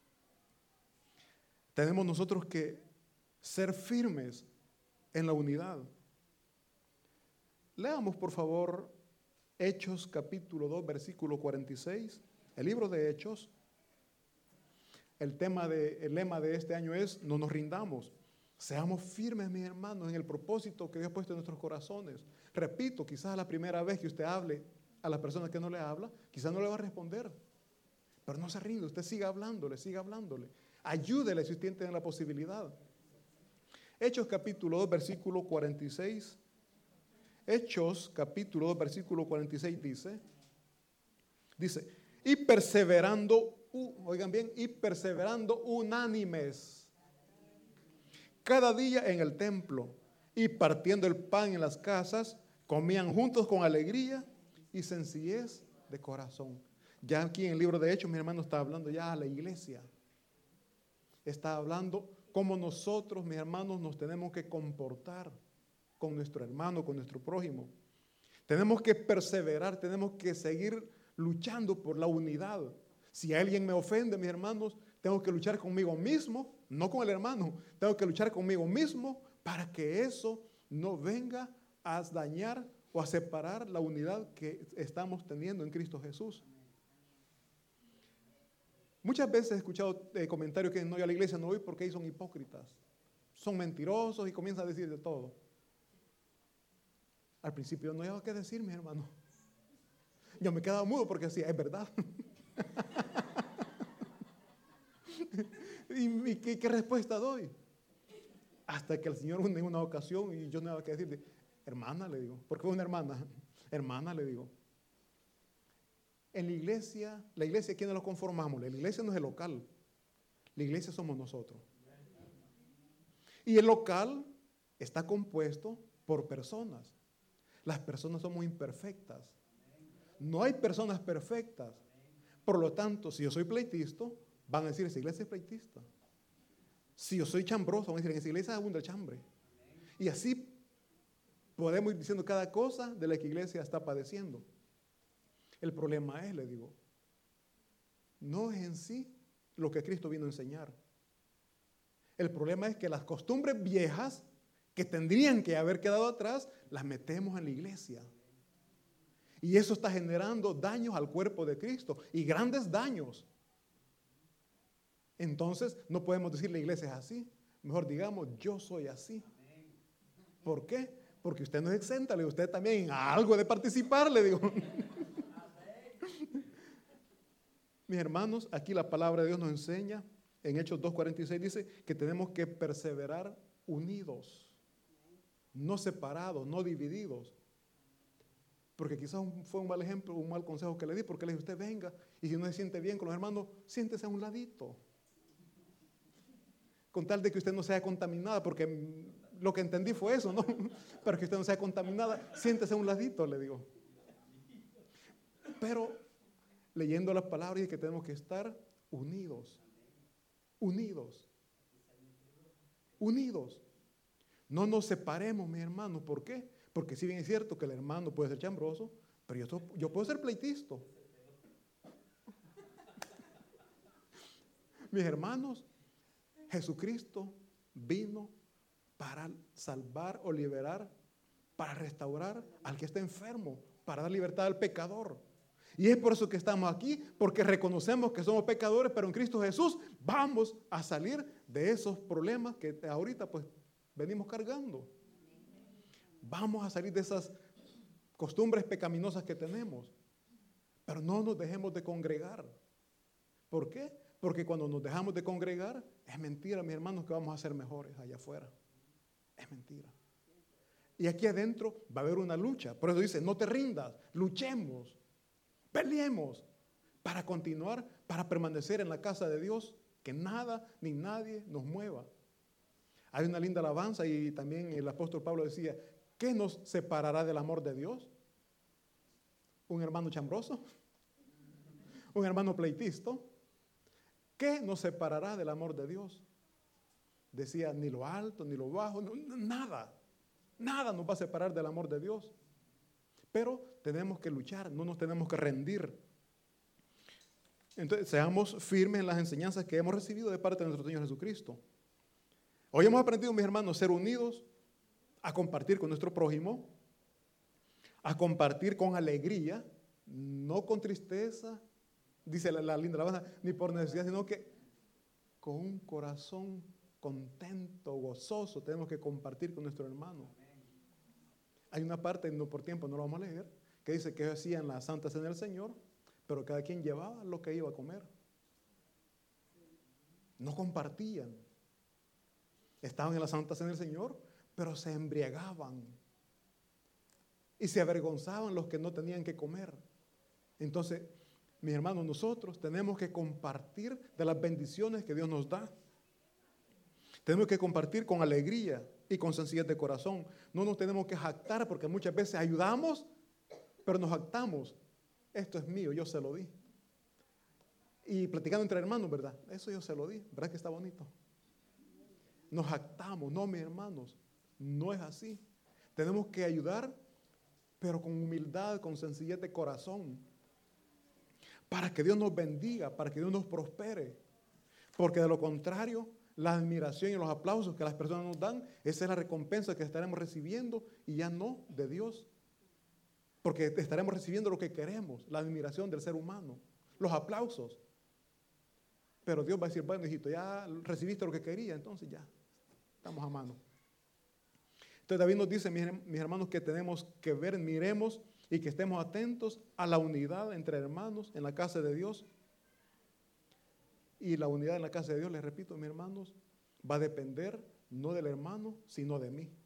Tenemos nosotros que ser firmes en la unidad. Leamos, por favor, Hechos capítulo dos, versículo cuarenta y seis. El libro de Hechos. El tema de, el lema de este año es, no nos rindamos. Seamos firmes, mis hermanos, en el propósito que Dios ha puesto en nuestros corazones. Repito, quizás la primera vez que usted hable a la persona que no le habla, quizás no le va a responder. Pero no se rinde, usted siga hablándole, siga hablándole. Ayúdele si usted tiene la posibilidad. Hechos capítulo dos, versículo cuarenta y seis. Hechos capítulo dos, versículo cuarenta y seis dice, dice, y perseverando, uh, oigan bien, y perseverando unánimes cada día en el templo y partiendo el pan en las casas, comían juntos con alegría y sencillez de corazón. Ya aquí en el libro de Hechos, mi hermano está hablando ya a la iglesia. Está hablando cómo nosotros, mis hermanos, nos tenemos que comportar con nuestro hermano, con nuestro prójimo. Tenemos que perseverar, tenemos que seguir luchando por la unidad. Si alguien me ofende, mis hermanos, tengo que luchar conmigo mismo, no con el hermano. Tengo que luchar conmigo mismo para que eso no venga a dañar o a separar la unidad que estamos teniendo en Cristo Jesús. Muchas veces he escuchado eh, comentarios que no, yo a la iglesia no voy porque ahí son hipócritas, son mentirosos y comienzan a decir de todo. Al principio no había que decir, mi hermano. Yo me quedaba mudo porque decía, es verdad. ¿Y, y qué, qué respuesta doy? Hasta que el Señor en una ocasión, y yo no había que decirle, hermana, le digo, porque fue una hermana, hermana, le digo. En la iglesia, la iglesia, ¿quiénes lo conformamos? La iglesia no es el local, la iglesia somos nosotros. Y el local está compuesto por personas. Las personas somos imperfectas. No hay personas perfectas. Por lo tanto, si yo soy pleitista, van a decir, esa iglesia es pleitista. Si yo soy chambroso, van a decir, en esa iglesia abunda el chambre. Y así podemos ir diciendo cada cosa de la que la iglesia está padeciendo. El problema es, le digo, no es en sí lo que Cristo vino a enseñar. El problema es que las costumbres viejas que tendrían que haber quedado atrás, las metemos en la iglesia. Y eso está generando daños al cuerpo de Cristo y grandes daños. Entonces, no podemos decir la iglesia es así. Mejor digamos, yo soy así. ¿Por qué? Porque usted no es exenta, le digo, usted también algo de participar, le digo. Mis hermanos, aquí la palabra de Dios nos enseña, en Hechos dos cuarenta y seis dice que tenemos que perseverar unidos, no separados, no divididos. Porque quizás fue un mal ejemplo, un mal consejo que le di, porque le dije, usted venga, y si no se siente bien con los hermanos, siéntese a un ladito. Con tal de que usted no sea contaminada, porque lo que entendí fue eso, ¿no? Para que usted no sea contaminada, siéntese a un ladito, le digo. Pero leyendo las palabras dice que tenemos que estar unidos, unidos, unidos. No nos separemos, mis hermanos. ¿Por qué? Porque si bien es cierto que el hermano puede ser chambroso, pero yo, yo puedo ser pleitista. Mis hermanos, Jesucristo vino para salvar o liberar, para restaurar al que está enfermo, para dar libertad al pecador. Y es por eso que estamos aquí, porque reconocemos que somos pecadores, pero en Cristo Jesús vamos a salir de esos problemas que ahorita pues venimos cargando. Vamos a salir de esas costumbres pecaminosas que tenemos. Pero no nos dejemos de congregar. ¿Por qué? Porque cuando nos dejamos de congregar, es mentira, mis hermanos, que vamos a ser mejores allá afuera. Es mentira. Y aquí adentro va a haber una lucha. Por eso dice, no te rindas, luchemos, peleemos para continuar, para permanecer en la casa de Dios, que nada ni nadie nos mueva. Hay una linda alabanza y también el apóstol Pablo decía, ¿qué nos separará del amor de Dios? ¿Un hermano chambroso? ¿Un hermano pleitisto? ¿Qué nos separará del amor de Dios? Decía, ni lo alto, ni lo bajo, no, nada. Nada nos va a separar del amor de Dios. Pero tenemos que luchar, no nos tenemos que rendir. Entonces, seamos firmes en las enseñanzas que hemos recibido de parte de nuestro Señor Jesucristo. Hoy hemos aprendido, mis hermanos, a ser unidos, a compartir con nuestro prójimo, a compartir con alegría, no con tristeza, dice la, la linda alabanza, ni por necesidad, sino que con un corazón contento, gozoso, tenemos que compartir con nuestro hermano. Hay una parte, no por tiempo, no lo vamos a leer, que dice que hacían la Santa Cena del Señor, pero cada quien llevaba lo que iba a comer. No compartían. Estaban en la Santa Cena del Señor, pero se embriagaban. Y se avergonzaban los que no tenían que comer. Entonces, mis hermanos, nosotros tenemos que compartir de las bendiciones que Dios nos da. Tenemos que compartir con alegría y con sencillez de corazón. No nos tenemos que jactar porque muchas veces ayudamos, pero nos jactamos. Esto es mío, yo se lo di. Y platicando entre hermanos, ¿verdad? Eso yo se lo di. ¿Verdad que está bonito? Nos jactamos. No, mis hermanos, no es así. Tenemos que ayudar, pero con humildad, con sencillez de corazón. Para que Dios nos bendiga, para que Dios nos prospere. Porque de lo contrario, la admiración y los aplausos que las personas nos dan, esa es la recompensa que estaremos recibiendo y ya no de Dios. Porque estaremos recibiendo lo que queremos, la admiración del ser humano, los aplausos. Pero Dios va a decir, bueno, hijito, ya recibiste lo que quería, entonces ya, estamos a mano. Entonces David nos dice, mis hermanos, que tenemos que ver, miremos y que estemos atentos a la unidad entre hermanos en la casa de Dios. Y la unidad en la casa de Dios, les repito, mis hermanos, va a depender no del hermano, sino de mí.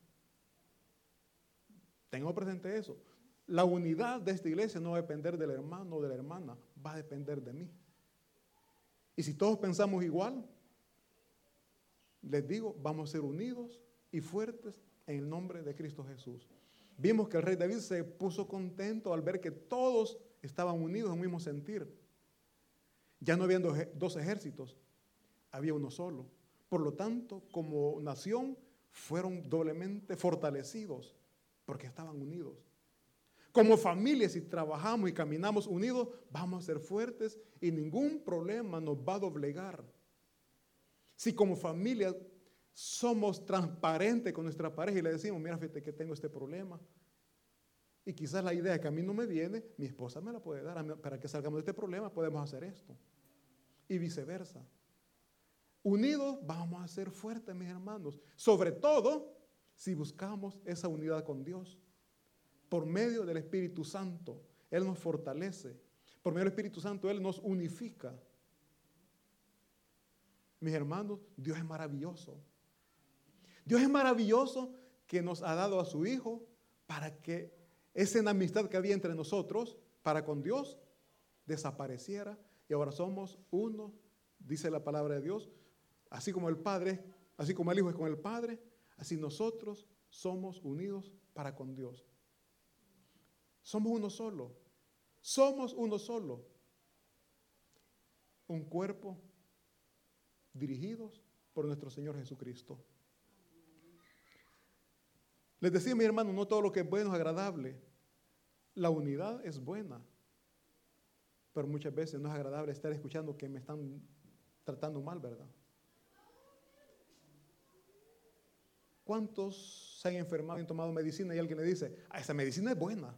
Tengo presente eso. La unidad de esta iglesia no va a depender del hermano o de la hermana, va a depender de mí. Y si todos pensamos igual, les digo, vamos a ser unidos y fuertes en el nombre de Cristo Jesús. Vimos que el rey David se puso contento al ver que todos estaban unidos en un mismo sentir. Ya no habían dos ejércitos, había uno solo. Por lo tanto, como nación, fueron doblemente fortalecidos porque estaban unidos. Como familia, si trabajamos y caminamos unidos, vamos a ser fuertes y ningún problema nos va a doblegar. Si como familia somos transparentes con nuestra pareja y le decimos, mira, fíjate que tengo este problema, y quizás la idea que a mí no me viene, mi esposa me la puede dar, para que salgamos de este problema podemos hacer esto, y viceversa. Unidos vamos a ser fuertes, mis hermanos, sobre todo si buscamos esa unidad con Dios. Por medio del Espíritu Santo, Él nos fortalece. Por medio del Espíritu Santo, Él nos unifica. Mis hermanos, Dios es maravilloso. Dios es maravilloso que nos ha dado a su Hijo para que esa enemistad que había entre nosotros, para con Dios, desapareciera. Y ahora somos uno, dice la palabra de Dios, así como el Padre, así como el Hijo es con el Padre, así nosotros somos unidos para con Dios. Somos uno solo. Somos uno solo. Un cuerpo dirigidos por nuestro Señor Jesucristo. Les decía, mi hermano, no todo lo que es bueno es agradable. La unidad es buena, pero muchas veces no es agradable estar escuchando que me están tratando mal, ¿verdad? ¿Cuántos se han enfermado y han tomado medicina y alguien le dice, ah, esa medicina es buena?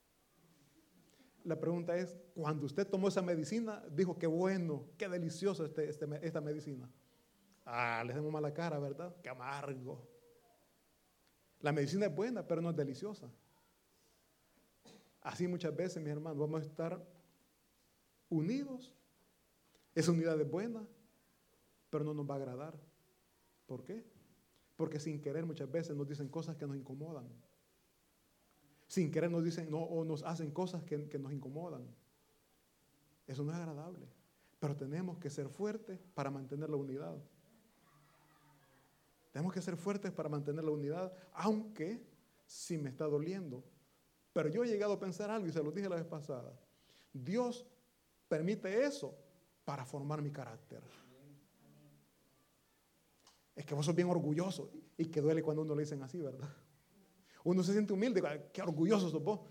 La pregunta es, cuando usted tomó esa medicina, dijo, qué bueno, qué delicioso este, este, esta medicina. Ah, le hacemos mala cara, ¿verdad? Qué amargo. La medicina es buena, pero no es deliciosa. Así muchas veces, mis hermanos, vamos a estar unidos. Esa unidad es buena, pero no nos va a agradar. ¿Por qué? Porque sin querer muchas veces nos dicen cosas que nos incomodan. Sin querer nos dicen no, o nos hacen cosas que, que nos incomodan. Eso no es agradable. Pero tenemos que ser fuertes para mantener la unidad. Tenemos que ser fuertes para mantener la unidad, aunque sí me está doliendo. Pero yo he llegado a pensar algo y se lo dije la vez pasada. Dios permite eso para formar mi carácter. Es que vos sos bien orgulloso y que duele cuando uno le dicen así, ¿verdad? Uno se siente humilde, qué orgulloso sos vos.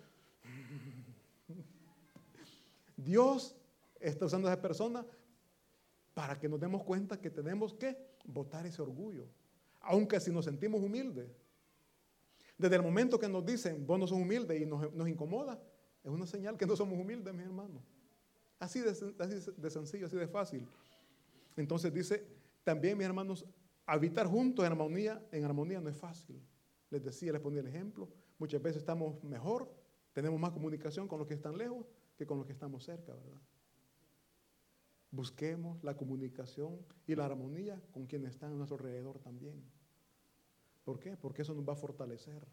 Dios está usando a esa persona para que nos demos cuenta que tenemos que botar ese orgullo, aunque si nos sentimos humildes. Desde el momento que nos dicen, vos no sos humilde y nos, nos incomoda, es una señal que no somos humildes, mis hermanos. Así de, así de sencillo, así de fácil. Entonces dice, también, mis hermanos, habitar juntos en armonía, en armonía no es fácil. Les decía, les ponía el ejemplo. Muchas veces estamos mejor, tenemos más comunicación con los que están lejos que con los que estamos cerca, ¿verdad? Busquemos la comunicación y la armonía con quienes están a nuestro alrededor también. ¿Por qué? Porque eso nos va a fortalecer.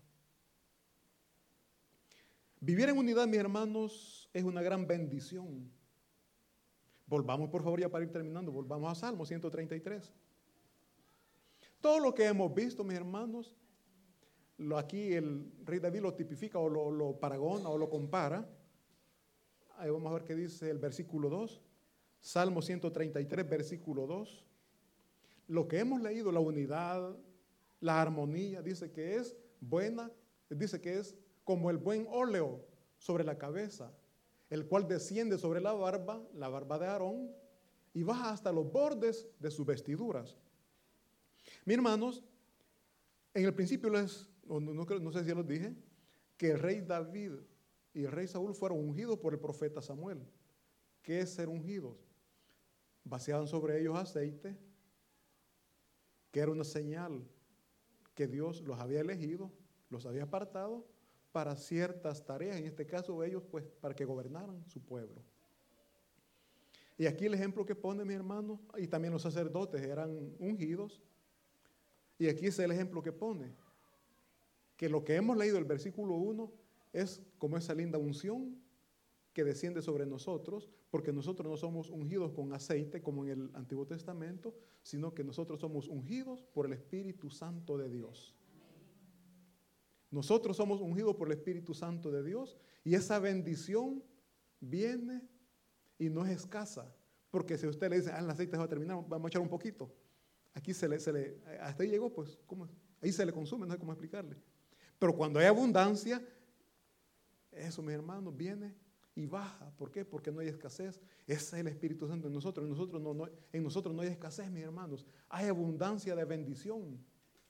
Vivir en unidad, mis hermanos, es una gran bendición. Volvamos, por favor, ya para ir terminando, volvamos a Salmo ciento treinta y tres. Todo lo que hemos visto, mis hermanos, lo, aquí el rey David lo tipifica o lo, lo paragona o lo compara. Ahí vamos a ver qué dice el versículo dos. Salmo ciento treinta y tres, versículo dos. Lo que hemos leído, la unidad, la armonía, dice que es buena, dice que es como el buen óleo sobre la cabeza, el cual desciende sobre la barba, la barba de Aarón, y baja hasta los bordes de sus vestiduras. Mis hermanos, en el principio les, no, no, no sé si ya los dije, que el rey David y el rey Saúl fueron ungidos por el profeta Samuel. ¿Qué es ser ungidos? Vaciaban sobre ellos aceite, que era una señal que Dios los había elegido, los había apartado para ciertas tareas, en este caso ellos, pues, para que gobernaran su pueblo. Y aquí el ejemplo que pone mi hermano, y también los sacerdotes eran ungidos, y aquí es el ejemplo que pone, que lo que hemos leído el versículo uno es como esa linda unción que desciende sobre nosotros, porque nosotros no somos ungidos con aceite como en el Antiguo Testamento, sino que nosotros somos ungidos por el Espíritu Santo de Dios. Nosotros somos ungidos por el Espíritu Santo de Dios y esa bendición viene y no es escasa, porque si usted le dice, ah, el aceite se va a terminar, vamos a echar un poquito. Aquí se le, se le hasta ahí llegó, pues, ¿cómo? Ahí se le consume, no sé cómo explicarle. Pero cuando hay abundancia, eso, mis hermanos, viene y baja. ¿Por qué? Porque no hay escasez. Ese es el Espíritu Santo en nosotros. En nosotros no, no, en nosotros no hay escasez, mis hermanos. Hay abundancia de bendición.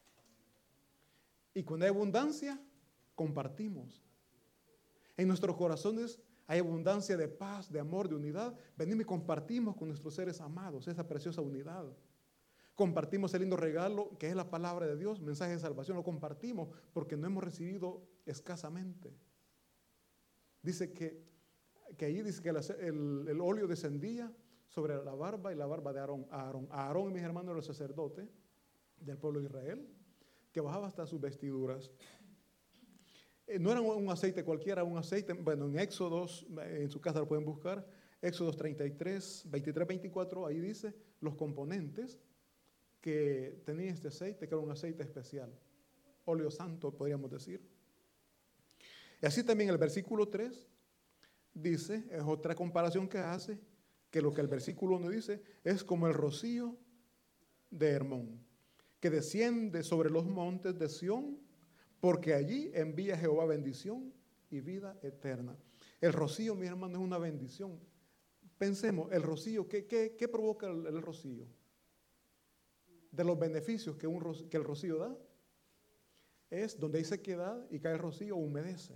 Y cuando hay abundancia, compartimos. En nuestros corazones hay abundancia de paz, de amor, de unidad. Venimos y compartimos con nuestros seres amados esa preciosa unidad. Compartimos el lindo regalo que es la palabra de Dios, mensaje de salvación. Lo compartimos porque no hemos recibido escasamente. Dice que, que ahí dice que el, el, el óleo descendía sobre la barba y la barba de Aarón. Aarón, Aarón y mis hermanos los sacerdotes del pueblo de Israel, que bajaba hasta sus vestiduras. Eh, no era un aceite cualquiera, un aceite, bueno, en Éxodos, en su casa lo pueden buscar, Éxodos treinta y tres, veintitrés, veinticuatro, ahí dice los componentes que tenía este aceite, que era un aceite especial, óleo santo, podríamos decir. Y así también el versículo tres dice, es otra comparación que hace, que lo que el versículo uno dice es como el rocío de Hermón, que desciende sobre los montes de Sión, porque allí envía Jehová bendición y vida eterna. El rocío, mi hermano, es una bendición. Pensemos, el rocío, ¿qué, qué, qué provoca el, el rocío? De los beneficios que, un, que el rocío da, es donde hay sequedad y cae el rocío, humedece.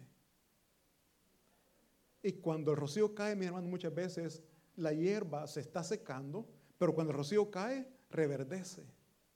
Y cuando el rocío cae, mi hermano, muchas veces la hierba se está secando, pero cuando el rocío cae, reverdece.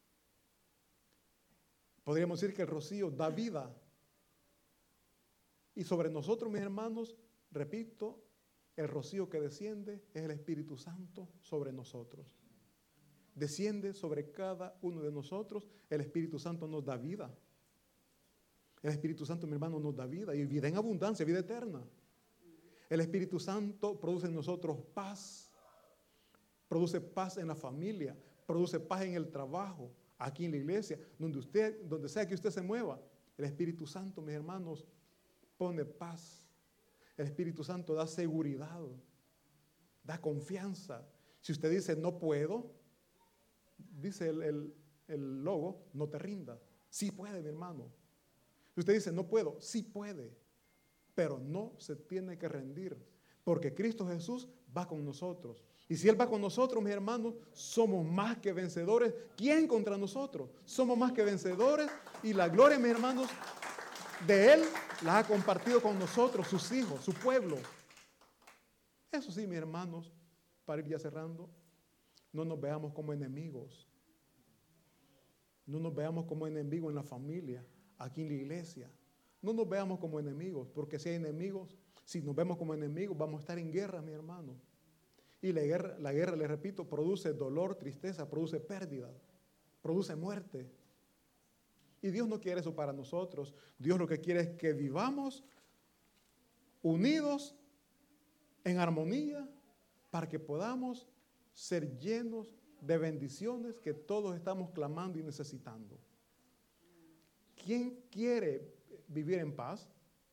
Podríamos decir que el rocío da vida. Y sobre nosotros, mis hermanos, repito, el rocío que desciende es el Espíritu Santo sobre nosotros. Desciende sobre cada uno de nosotros. El Espíritu Santo nos da vida. El Espíritu Santo, mi hermano, nos da vida y vida en abundancia, vida eterna. El Espíritu Santo produce en nosotros paz. Produce paz en la familia. Produce paz en el trabajo, aquí en la iglesia, donde usted, donde sea que usted se mueva. El Espíritu Santo, mis hermanos, pone paz. El Espíritu Santo da seguridad, da confianza. Si usted dice no puedo, dice el, el, el logo, no te rindas. Sí puede, mi hermano. Si usted dice no puedo, sí puede, pero no se tiene que rendir, porque Cristo Jesús va con nosotros. Y si Él va con nosotros, mis hermanos, somos más que vencedores. ¿Quién contra nosotros? Somos más que vencedores y la gloria, mis hermanos, de Él las ha compartido con nosotros, sus hijos, su pueblo. Eso sí, mis hermanos, para ir ya cerrando, no nos veamos como enemigos. No nos veamos como enemigos en la familia, aquí en la iglesia. No nos veamos como enemigos, porque si hay enemigos, si nos vemos como enemigos, vamos a estar en guerra, mi hermano. Y la guerra, la guerra, les repito, produce dolor, tristeza, produce pérdida, produce muerte. Y Dios no quiere eso para nosotros. Dios lo que quiere es que vivamos unidos, en armonía, para que podamos ser llenos de bendiciones que todos estamos clamando y necesitando. ¿Quién quiere vivir en paz?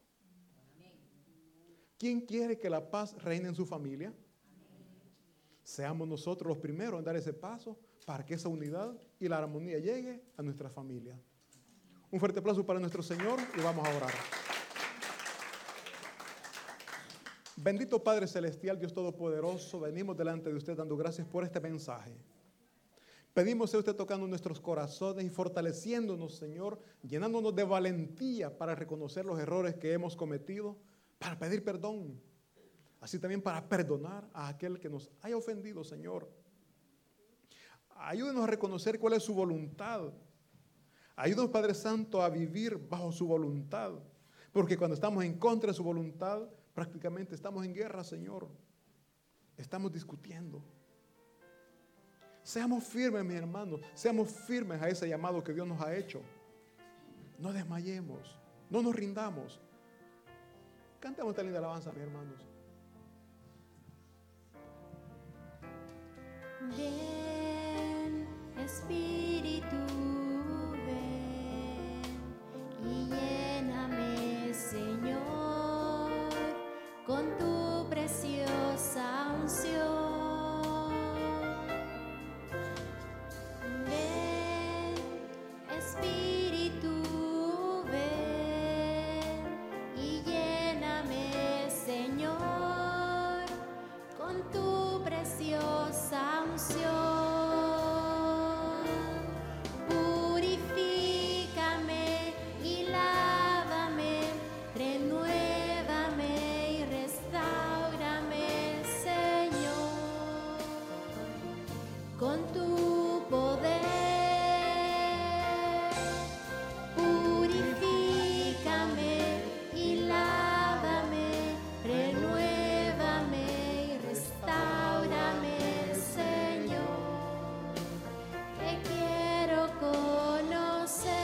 ¿Quién quiere que la paz reine en su familia? Seamos nosotros los primeros en dar ese paso para que esa unidad y la armonía llegue a nuestra familia. Un fuerte aplauso para nuestro Señor y vamos a orar. Bendito Padre Celestial, Dios Todopoderoso, venimos delante de usted dando gracias por este mensaje. Pedimos sea usted tocando nuestros corazones y fortaleciéndonos, Señor, llenándonos de valentía para reconocer los errores que hemos cometido, para pedir perdón. Así también para perdonar a aquel que nos haya ofendido, Señor. Ayúdenos a reconocer cuál es su voluntad. Ayúdenos, Padre Santo, a vivir bajo su voluntad. Porque cuando estamos en contra de su voluntad, prácticamente estamos en guerra, Señor. Estamos discutiendo. Seamos firmes, mis hermanos. Seamos firmes a ese llamado que Dios nos ha hecho. No desmayemos. No nos rindamos. Cantemos esta linda alabanza, mis hermanos. Ven, Espíritu, ven y lléname, Señor, con tu preciosa unción. Ven, Espíritu, ven y lléname, Señor, con tu preciosa unción. Purifícame y lávame, renuévame y restáurame, Señor, con tu poder. Purifícame y lávame, renuévame y restáurame, Señor, te quiero conocer,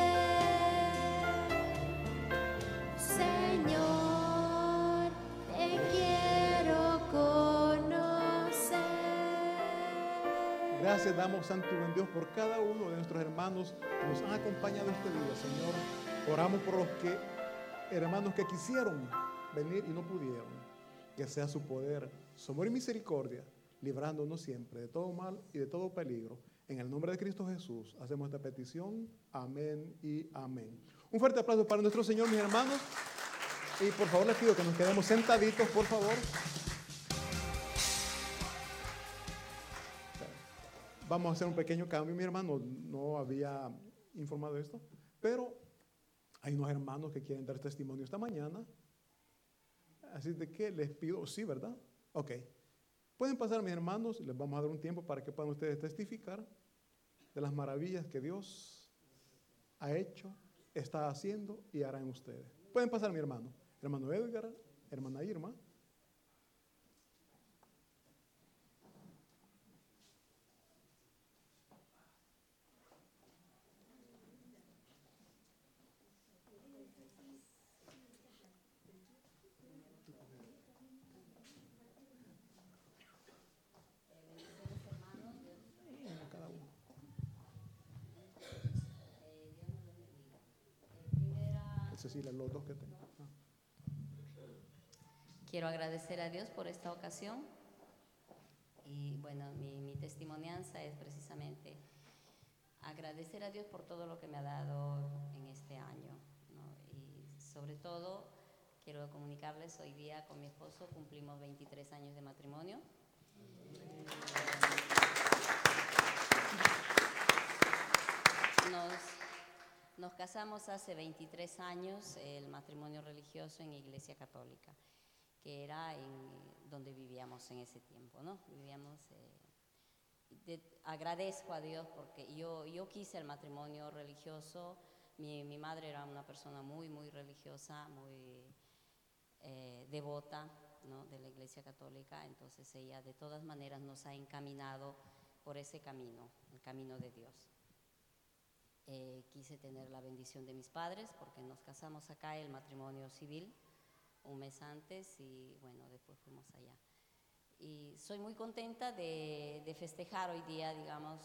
Señor, te quiero conocer. Gracias damos, Santo y buen Dios, por cada uno de nuestros hermanos que nos han acompañado este día, Señor. Oramos por los que, hermanos que quisieron venir y no pudieron. Que sea su poder, su amor y misericordia, librándonos siempre de todo mal y de todo peligro. En el nombre de Cristo Jesús hacemos esta petición. Amén y amén. Un fuerte aplauso para nuestro Señor, mis hermanos. Y por favor les pido que nos quedemos sentaditos, por favor. Vamos a hacer un pequeño cambio, mi hermano. No había informado esto, pero hay unos hermanos que quieren dar testimonio esta mañana. Así de que les pido, sí, ¿verdad? Ok. Pueden pasar, mis hermanos, les vamos a dar un tiempo para que puedan ustedes testificar de las maravillas que Dios ha hecho, está haciendo y hará en ustedes. Pueden pasar, mi hermano. Hermano Edgar, hermana Irma. Cada uno. Cecilia, los dos que tengo. Ah. Quiero agradecer a Dios por esta ocasión y bueno, mi, mi testimonianza es precisamente agradecer a Dios por todo lo que me ha dado en este año, ¿no? Y sobre todo quiero comunicarles, hoy día con mi esposo cumplimos veintitrés años de matrimonio. Nos, nos casamos hace veintitrés años, el matrimonio religioso en Iglesia Católica, que era en donde vivíamos en ese tiempo, ¿no? Vivíamos, eh, de, agradezco a Dios porque yo, yo quise el matrimonio religioso. Mi, mi madre era una persona muy, muy religiosa, muy eh, devota, ¿no?, de la Iglesia Católica, entonces ella de todas maneras nos ha encaminado por ese camino, el camino de Dios. Eh, quise tener la bendición de mis padres porque nos casamos acá, el matrimonio civil, un mes antes y bueno, después fuimos allá. Y soy muy contenta de, de festejar hoy día, digamos,